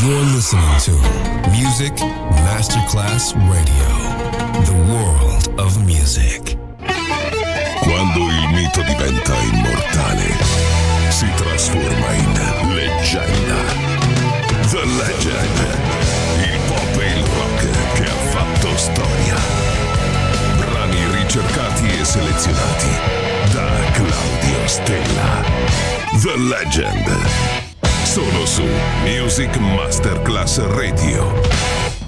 You're listening to Music Masterclass Radio, the world of music. Quando il mito diventa immortale, si trasforma in leggenda. The Legend, il pop e il rock che ha fatto storia. Brani ricercati e selezionati da Claudio Stella. The Legend. Solo su Music Masterclass Radio.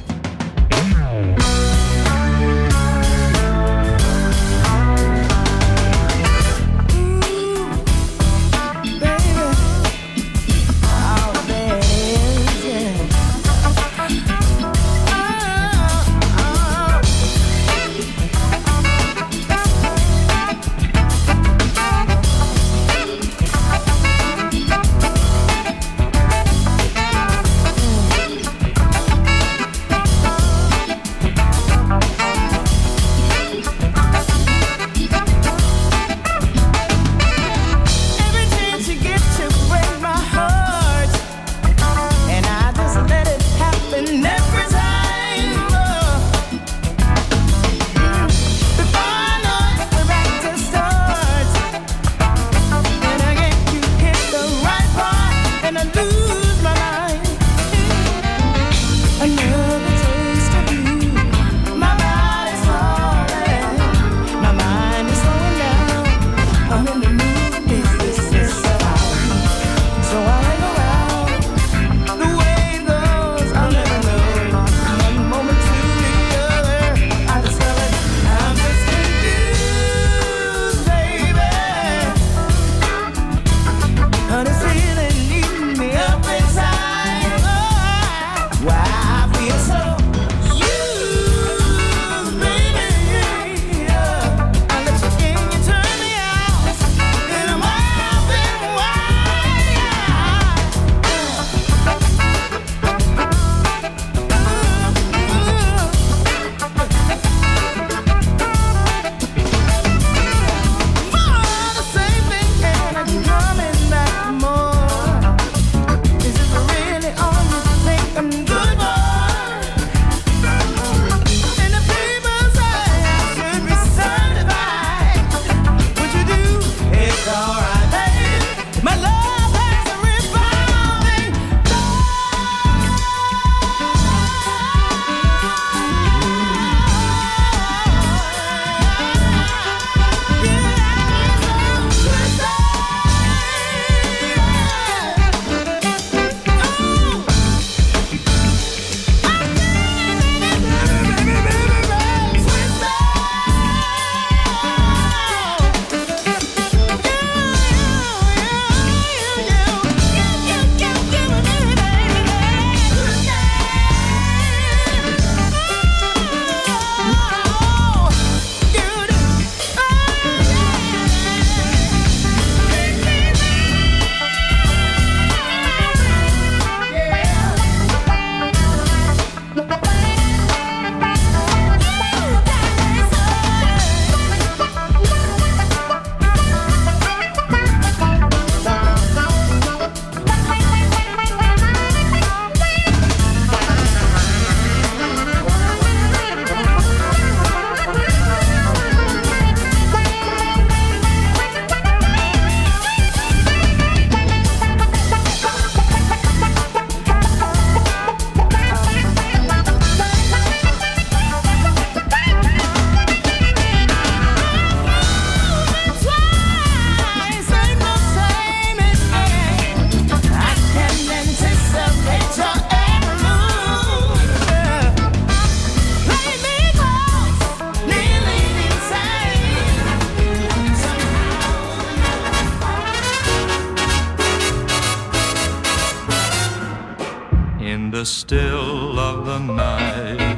Still of the night,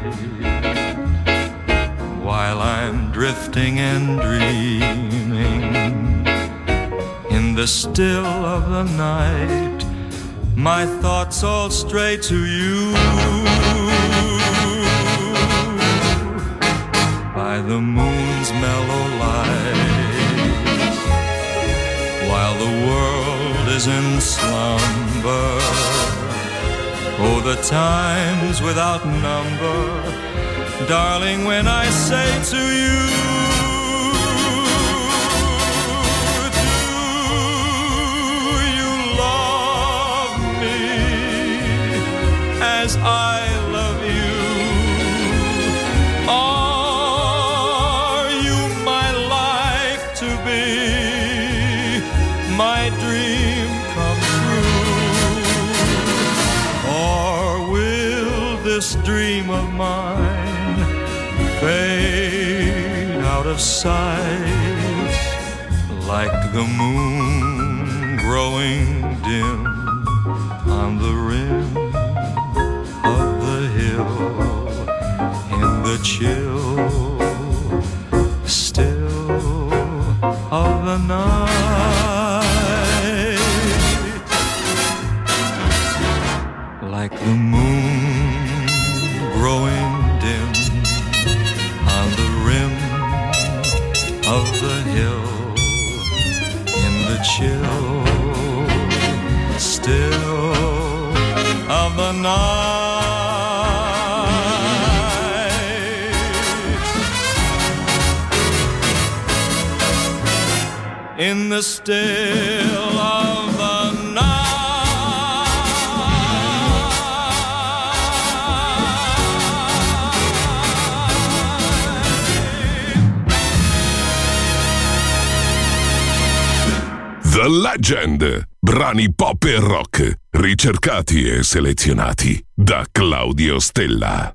while I'm drifting and dreaming, in the still of the night, my thoughts all stray to you. By the moon's mellow light, while the world is in slumber, Oh, the times without number, darling, when I say to you, do you love me as I love you? Are you my life to be, my dream come true? Or will this dream of mine fade out of sight like the moon growing dim on the rim of the hill in the chill still of the night, like the moon growing dim on the rim of the hill in the chill still of the night. In the still of the night. The Legend, brani pop e rock, ricercati e selezionati da Claudio Stella.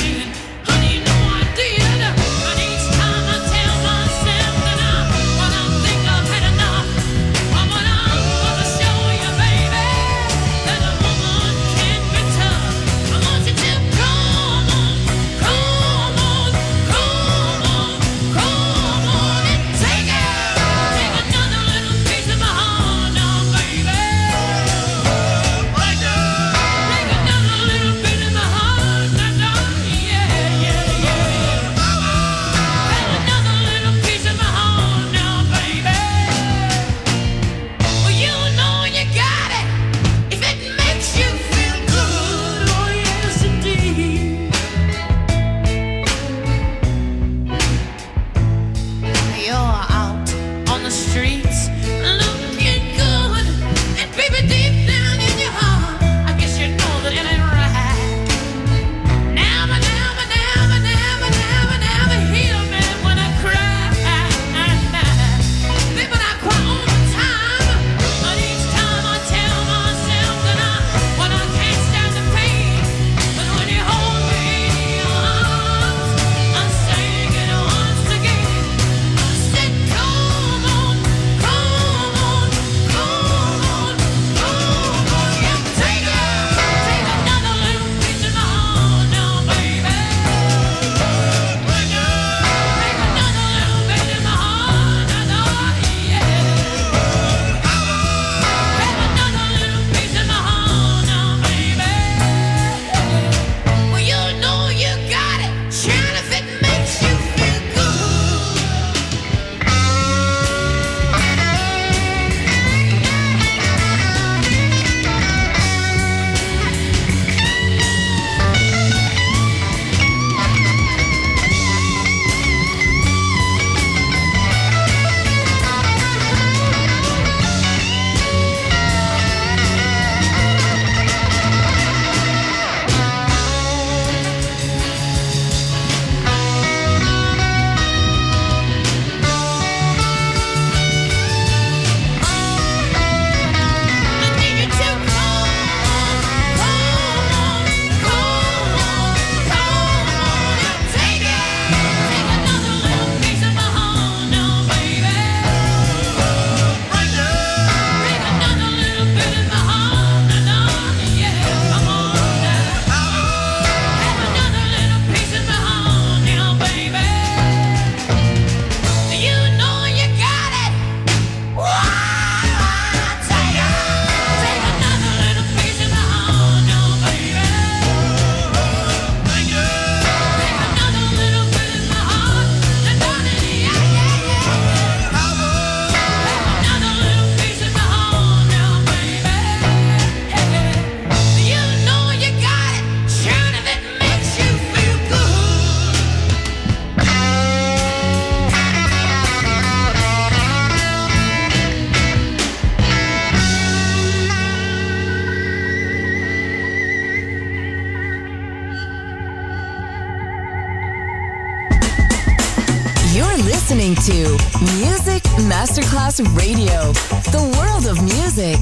listening to Music Masterclass Radio, the world of music.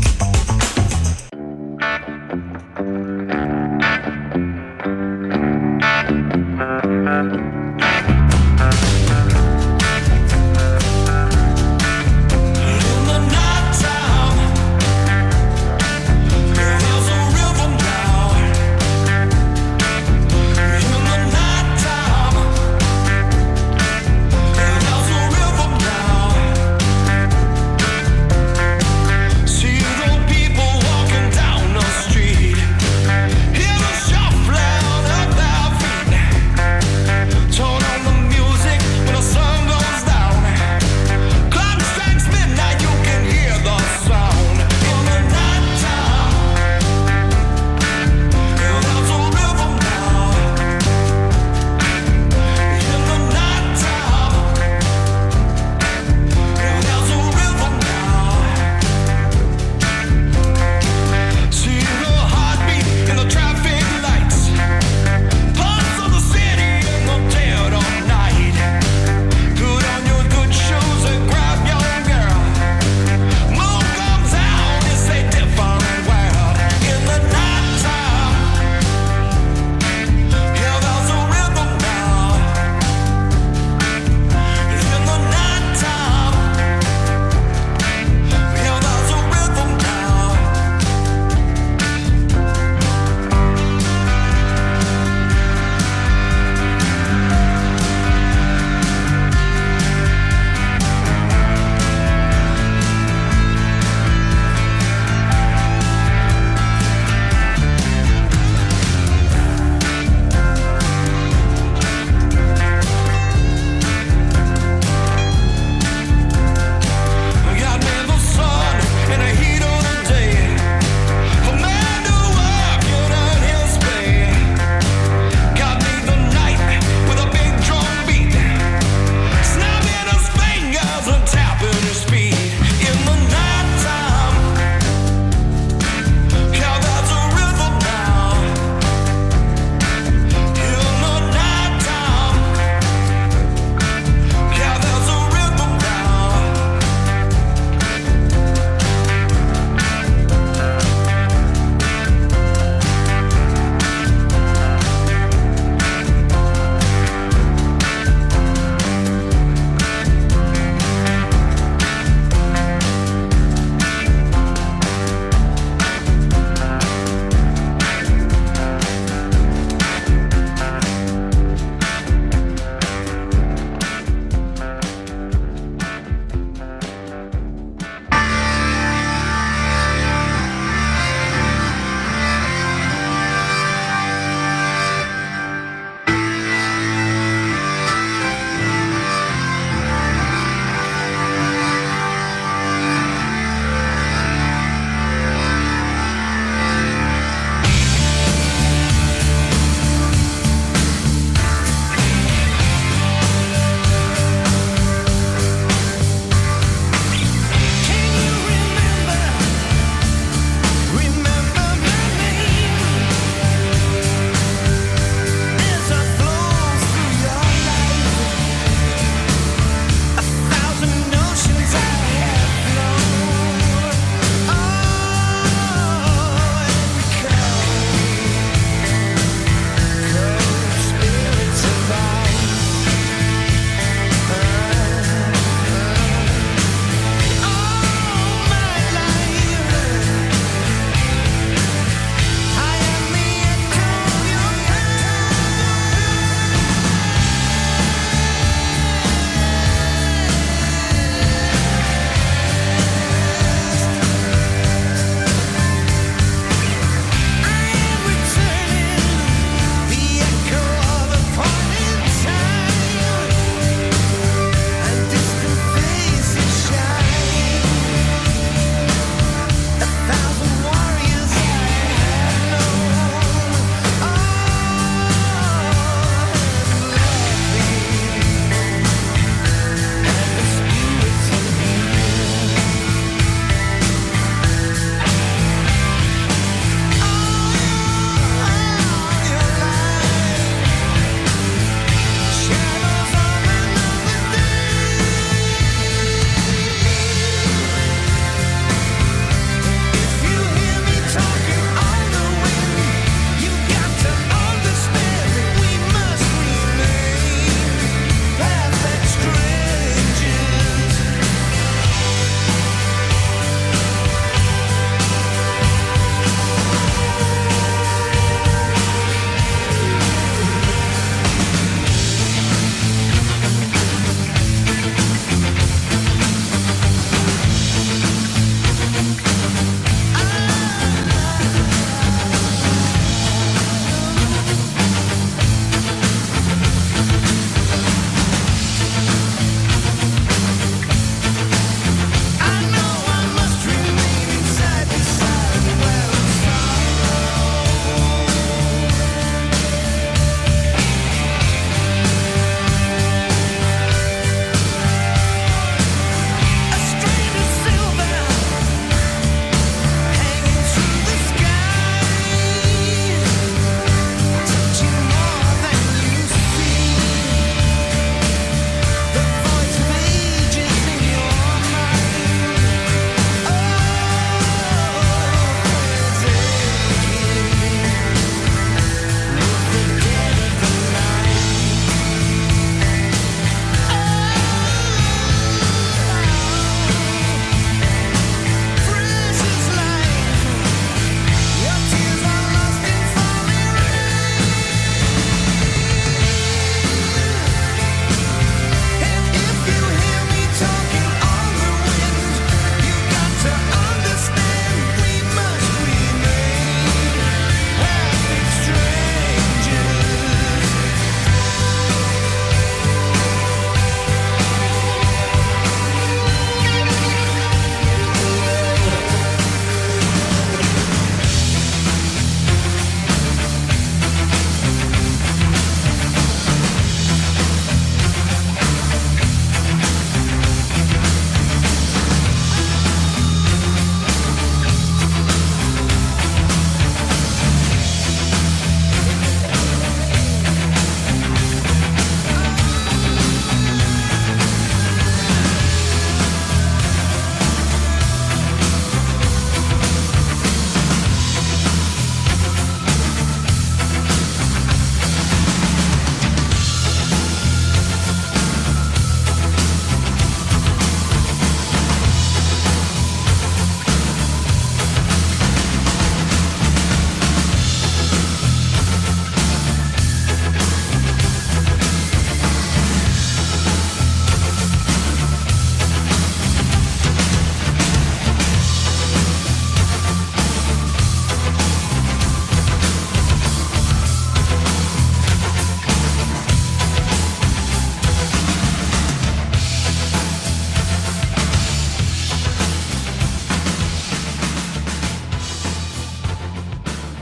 See the people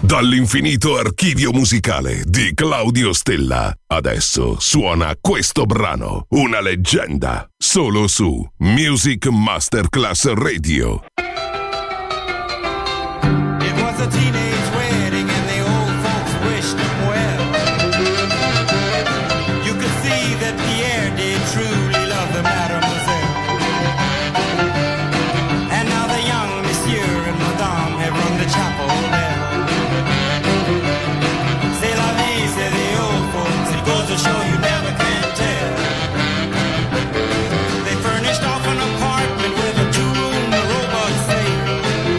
Dall'infinito archivio musicale di Claudio Stella. Adesso suona questo brano, una leggenda, solo su Music Masterclass Radio. It was a teenage wedding and the old folks wished him well. You could see that Pierre did truly love the mademoiselle. And now the young monsieur and madame have rung the chapel bell. C'est la vie, say the old folks, it goes to show you never can tell. They furnished off an apartment with a two-room robot sale.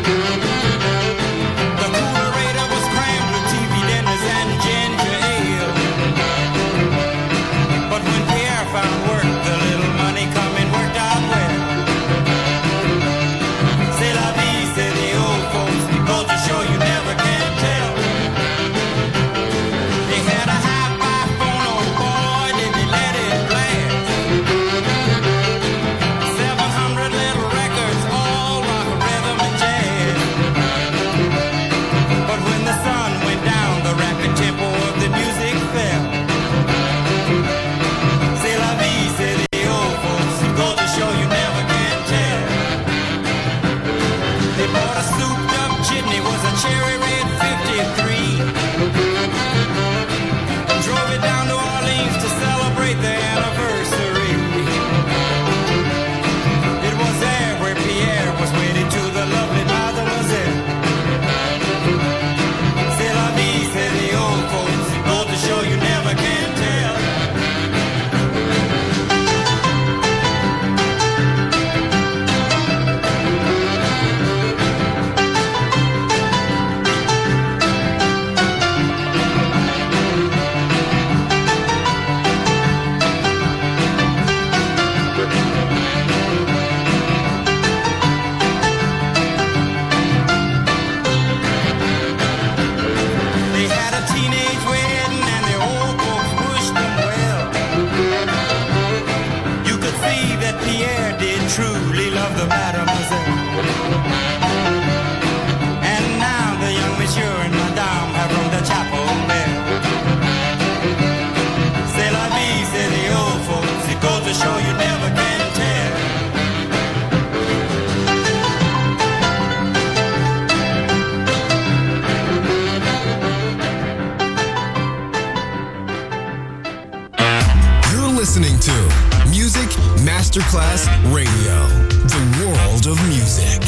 The coolerator was crammed with TV dinners and ginger ale. But when Pierre found work, the little money coming worked out well. C'est la vie, say the old folks, it goes to show you never can tell. They had a hi-fi phone, oh boy, did they let it blast. 700 little records, all rock, rhythm, and jazz. But when the sun went down, the rapid tempo of the music fell. C'est la vie, say the old folks, it goes to show you never can tell. They bought a souped-up jitney, was a cherry red 53. Drove it down to Orleans to celebrate their anniversary. It was there where Pierre was wedded to the lovely mademoiselle. C'est la vie, say the old folks, it goes to show you never can tell. They had a teenage wedding and the old folks wished them well. You could see that Pierre did truly love the mademoiselle. And now the young monsieur and madame have rung the chapel bell. C'est la vie, say the old folks, it goes to show you never can tell. You're listening to Music Masterclass Radio, the world of music.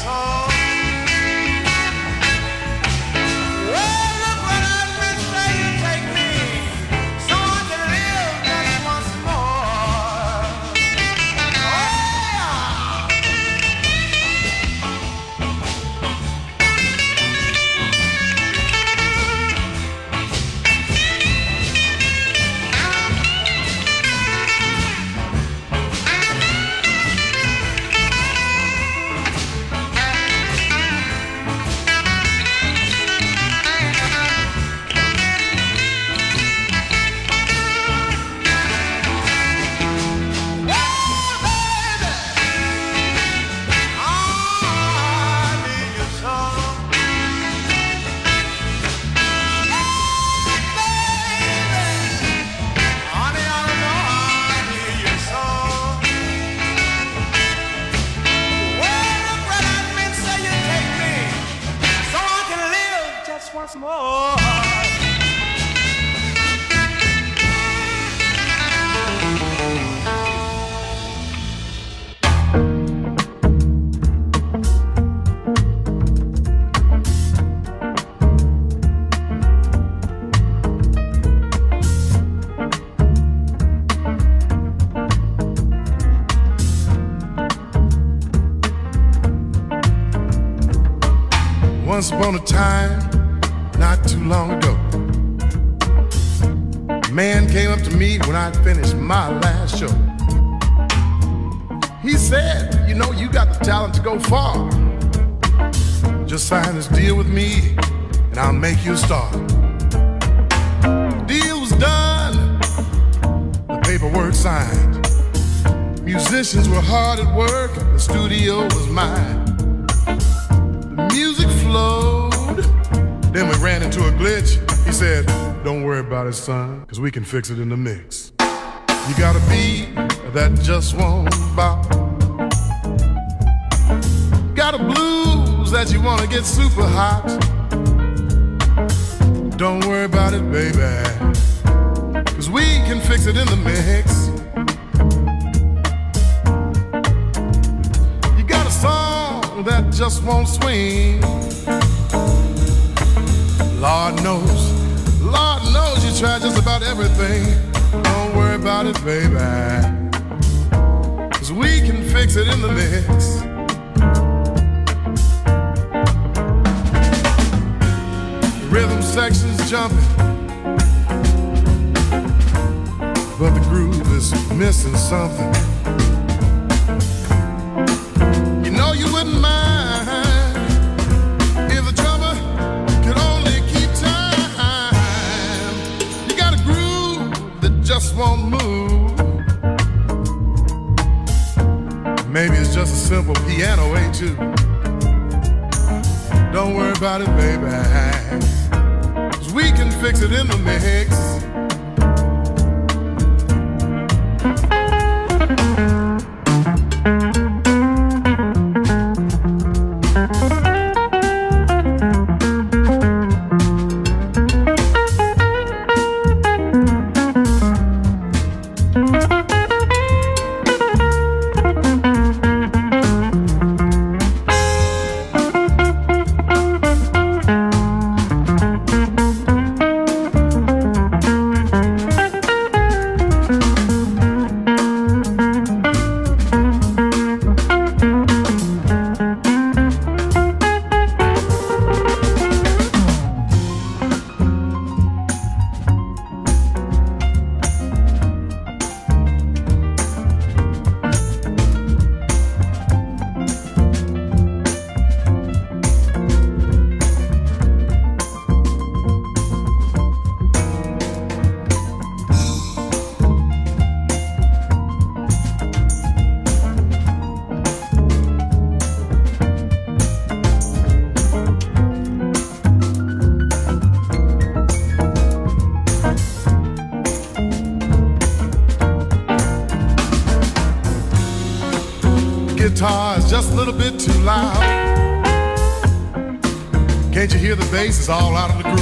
song. Well, look what I've been saying, take me, so I can live just once more. Oh, yeah. Once more. Once upon a time, not too long ago, a man came up to me when I'd finished my last show. He said, you know, you got the talent to go far. Just sign this deal with me and I'll make you a star. The deal was done, the paperwork signed. Musicians were hard at work, the studio was mine. The music flowed, then we ran into a glitch. He said, don't worry about it, son, cause we can fix it in the mix. You got a beat that just won't bop. Got a blues that you wanna get super hot. Don't worry about it, baby, cause we can fix it in the mix. You got a song that just won't swing. Lord knows you try just about everything. Don't worry about it, baby, cause we can fix it in the mix. The rhythm section's jumping, but the groove is missing something. You know you wouldn't mind if the drummer could only keep time. You got a groove that just won't move. Maybe it's just a simple piano etude. Don't worry about it, baby, cause we can fix it in the mix. Guitar is just a little bit too loud. Can't you hear the bass is all out of the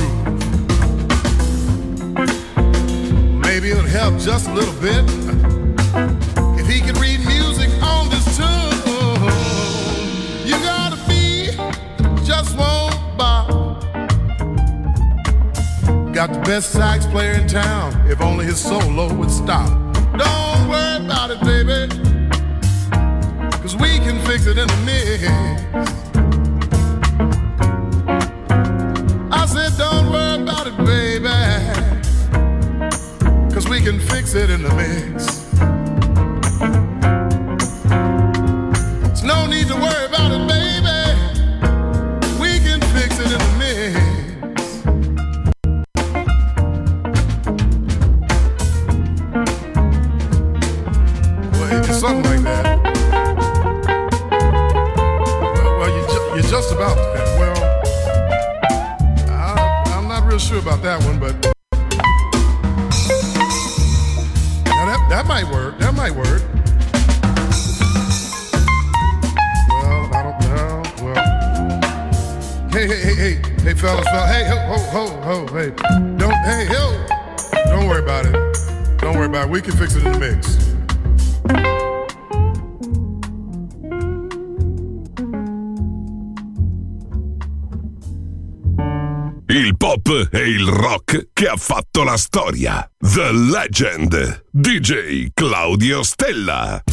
groove? Maybe it'll help just a little bit if he could read music on this tune. You gotta be got the best sax player in town. If only his solo would stop. Don't worry about it, baby, 'cause we can fix it in the mix. I said don't worry about it, baby, 'cause we can fix it in the mix. There's no need to worry about it, baby, we can fix it in the mix. Something like that. Well, you're just about that. Well, I'm not real sure about that one, but now that might work. That might work. Well, I don't know. Well, hey, fellas, hey, ho, hey, don't worry about it. Don't worry about it. We can fix it in the mix. Il pop e il rock che ha fatto la storia. The Legend, DJ Claudio Stella.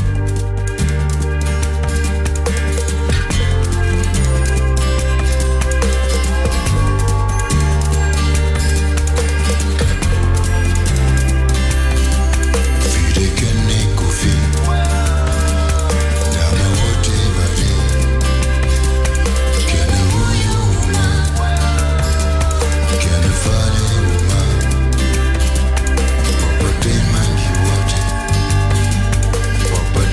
But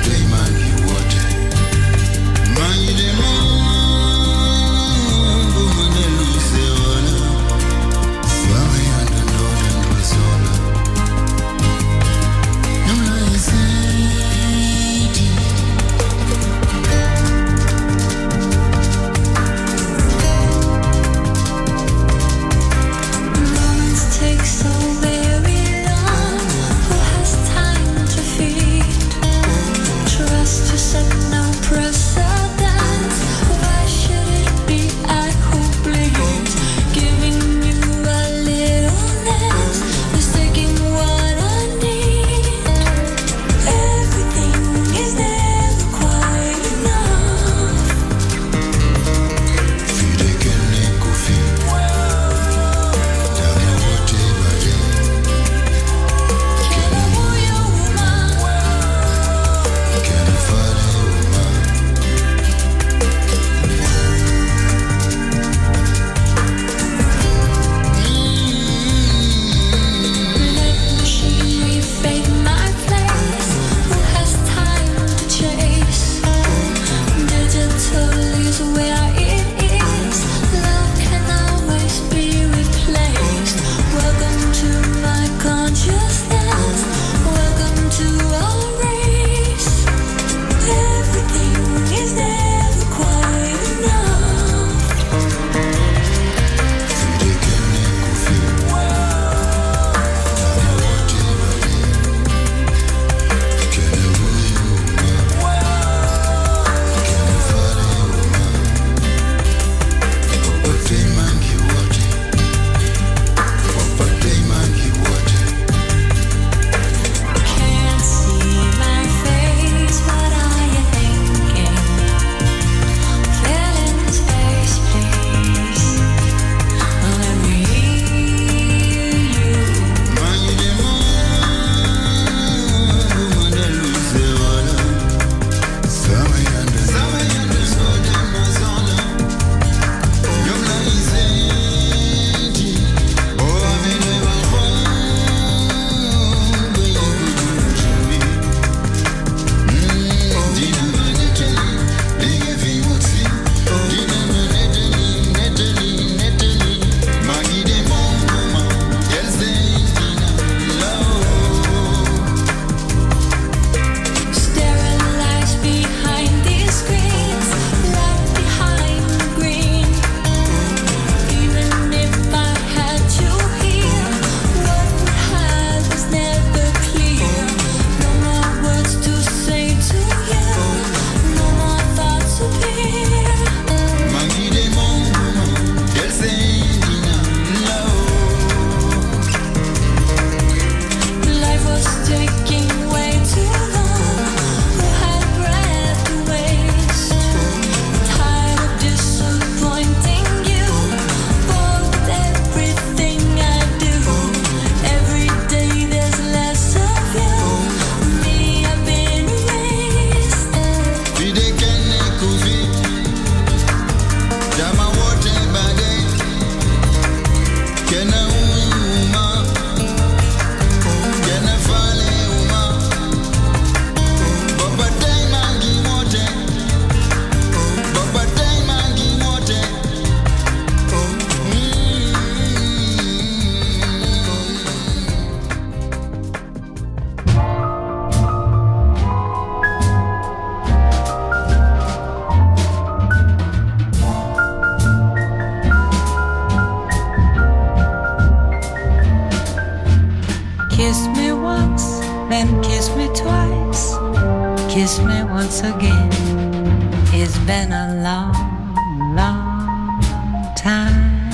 kiss me once again. It's been a long, long time.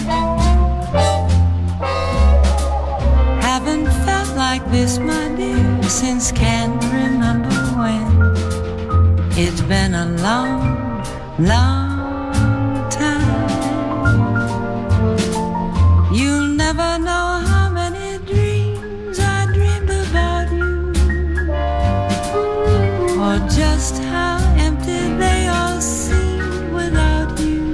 Haven't felt like this, my dear, since can't remember when. It's been a long, long time. You'll never know how many dreams I dreamed about you, or just how empty they all seem without you.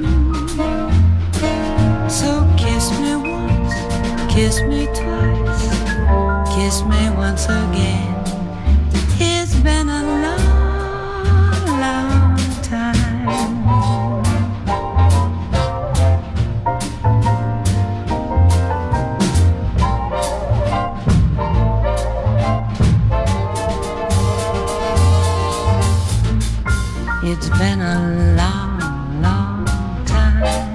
So kiss me once, kiss me twice, kiss me once again. It's been a long, long time. It's been a long, long time.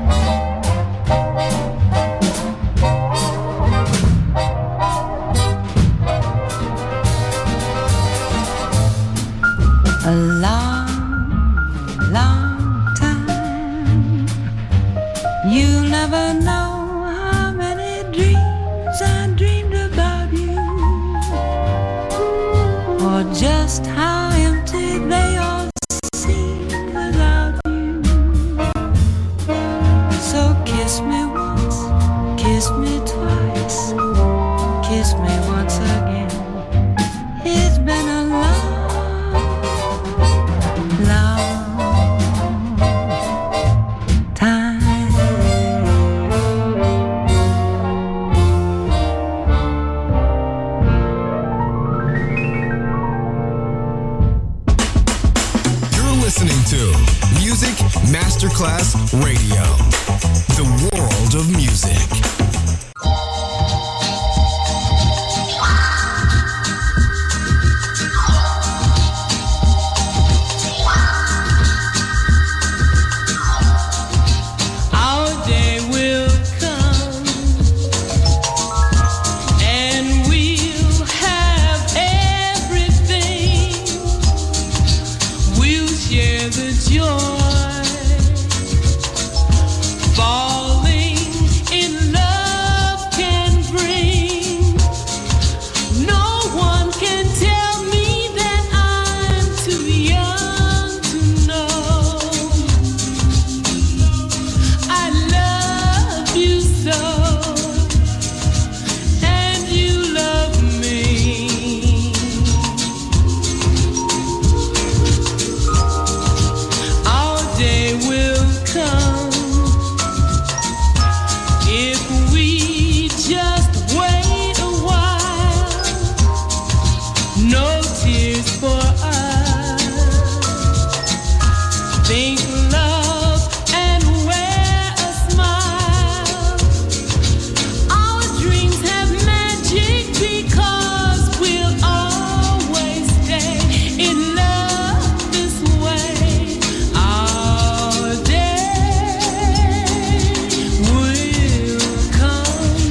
A long, long time. You'll never know how many dreams I dreamed about you, or just how empty they all seem without you. So kiss me once, kiss me twice, kiss me once again. It's been a long, long time. You're listening to Music Masterclass Radio, the world of music. Our day will come, and we'll have everything. We'll share the joy. Falling in love can bring. No one can tell me that I'm too young to know. I love you so, and you love me. Our day will come if we just wait a while. No tears for us. Think love and wear a smile. Our dreams have magic because we'll always stay in love this way. Our day will come.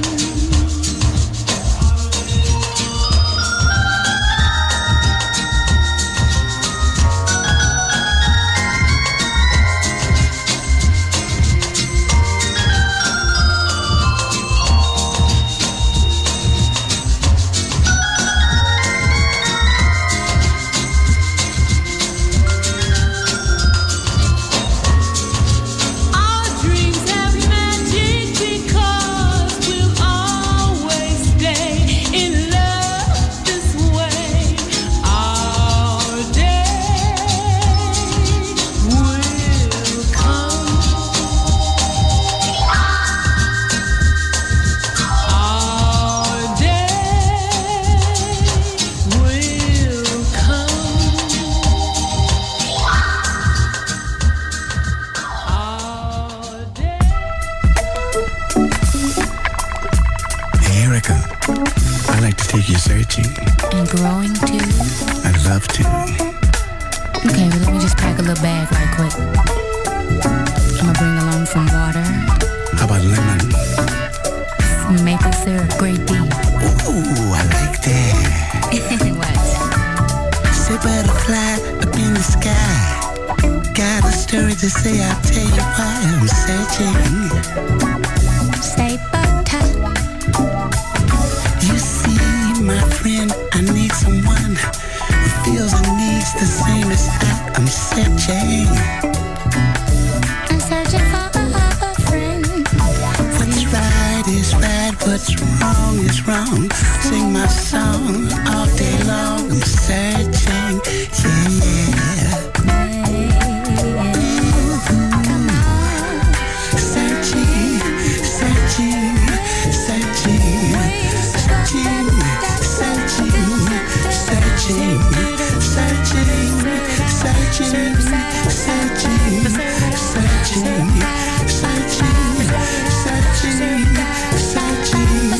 Our dreams have magic because we'll always stay in love this way. Our day will come. Our day will come. Hey, Erica, I'd like to take you searching. And growing too. I'd love to. Okay, well, let me just pack a little bag right quick. I'm gonna bring along some water, How about lemon? some maple syrup, grape tea. Ooh, I like that. What? Say butterfly, I've been story to say, I'll tell you why I'm searching. Say butter. You see, my friend, I need someone who feels and needs the same as I'm searching. I'm searching for a friend. What's right is right, what's wrong is wrong. Sing my song all day long. I'm searching, yeah. Searching, searching, searching, searching, searching, searching, searching, searching, searching, searching, searching.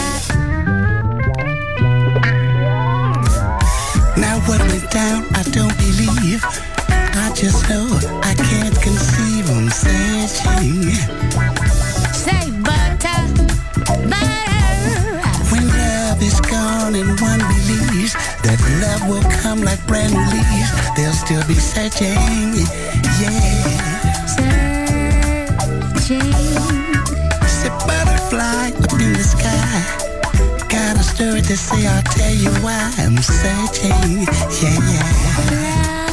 Now what went down, I don't believe. I just know I can't conceive. I'm searching. Say butter, butter. When love is gone and one believes that love will come like brand new leaves, they'll still be searching, yeah. Searching. Say butterfly up in the sky. Got a story to say, I'll tell you why I'm searching, yeah.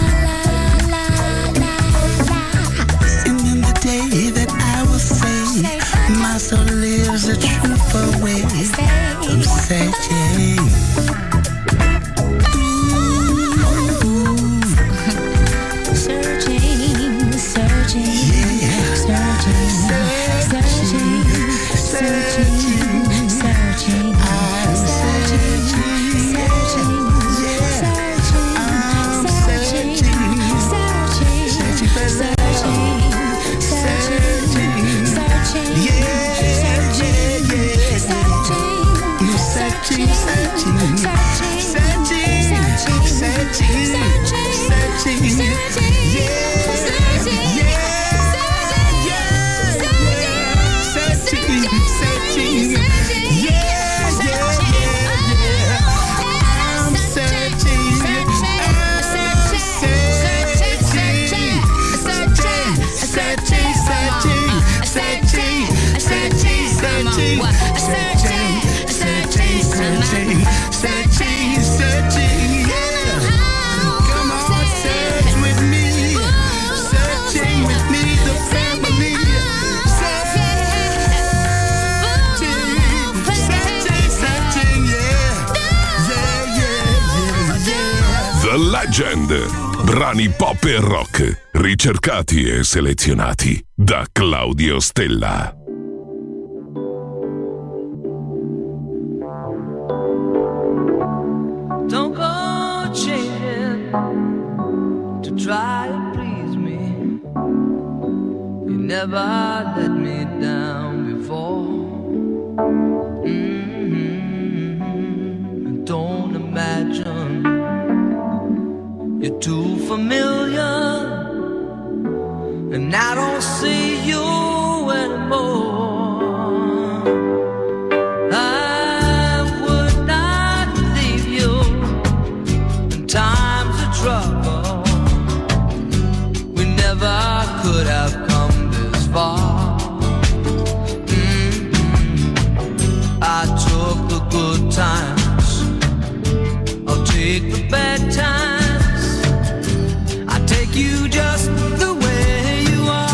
And in the day that I will say, my soul lives a truthful way. I'm searching. Searching, searching, Yeah. searching, searching, searching, searching. I'm searching. Yeah. I'm searching. Searching for love. Searching. Yeah. I'm searching, searching, searching, searching, yeah. Come on, search with me. Searching with me, the family. Searching, yeah. Yeah. The Legend. Brani pop e rock, ricercati e selezionati da Claudio Stella. Don't go changing to try to please me. You never let me down before. Don't imagine you're too familiar, and I don't see you anymore. I would not leave you in times of trouble. We never could have come this far. I took the good times, I'll take the bad times. I take you just the way you are.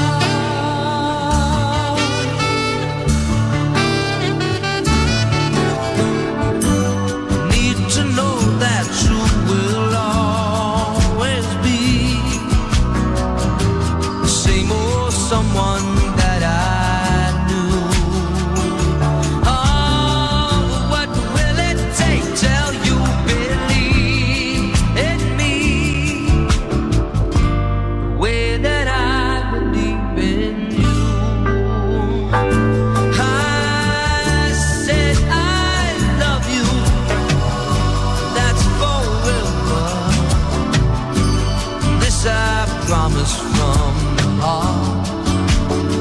Need to know that you will always be the same old someone that I knew. Oh, what will it take till you believe in me the way that I believe in you? I said I love you, that's forever. This I promise from the heart.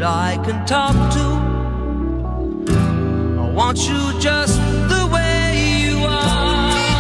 that I can talk to. I want you just the way you are.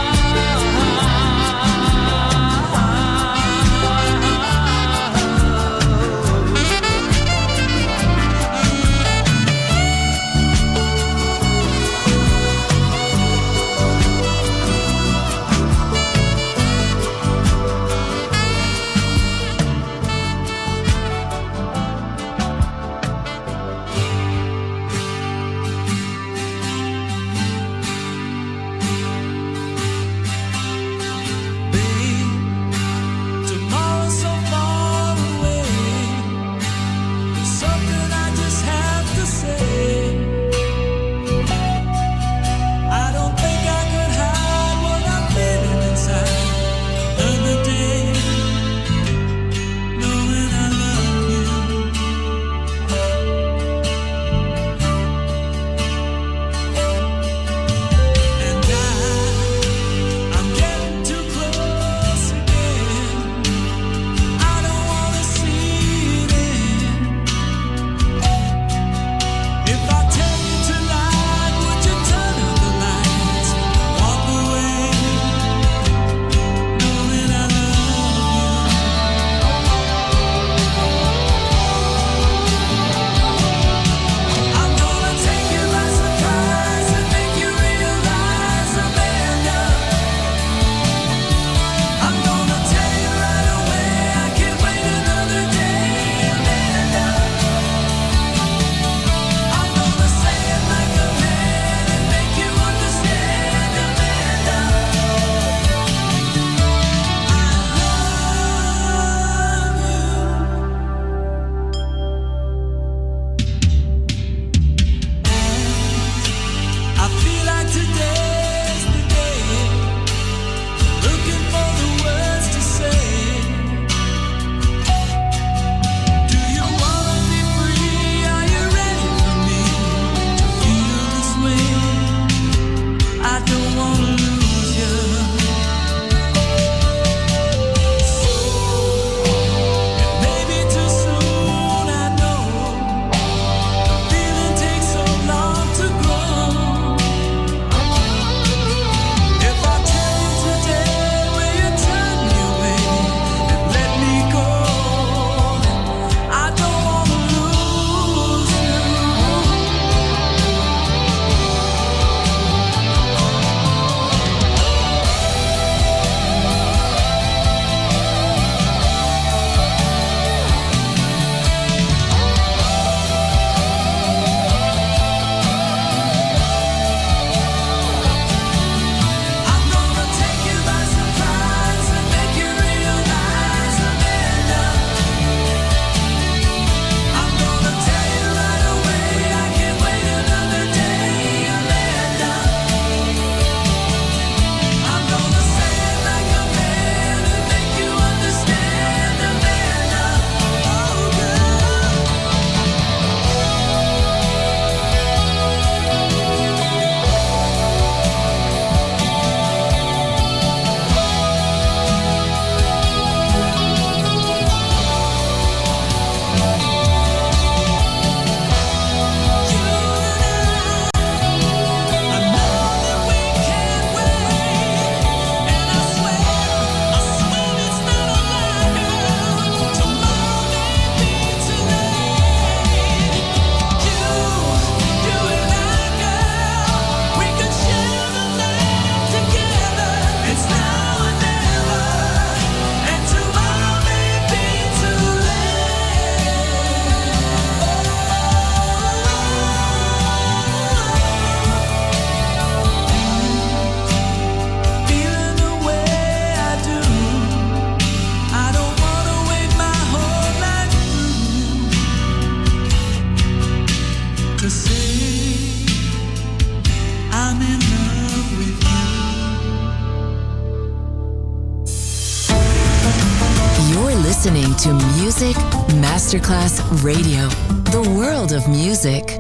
listening to Music Masterclass Radio, the world of music.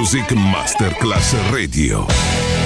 Music Masterclass Radio.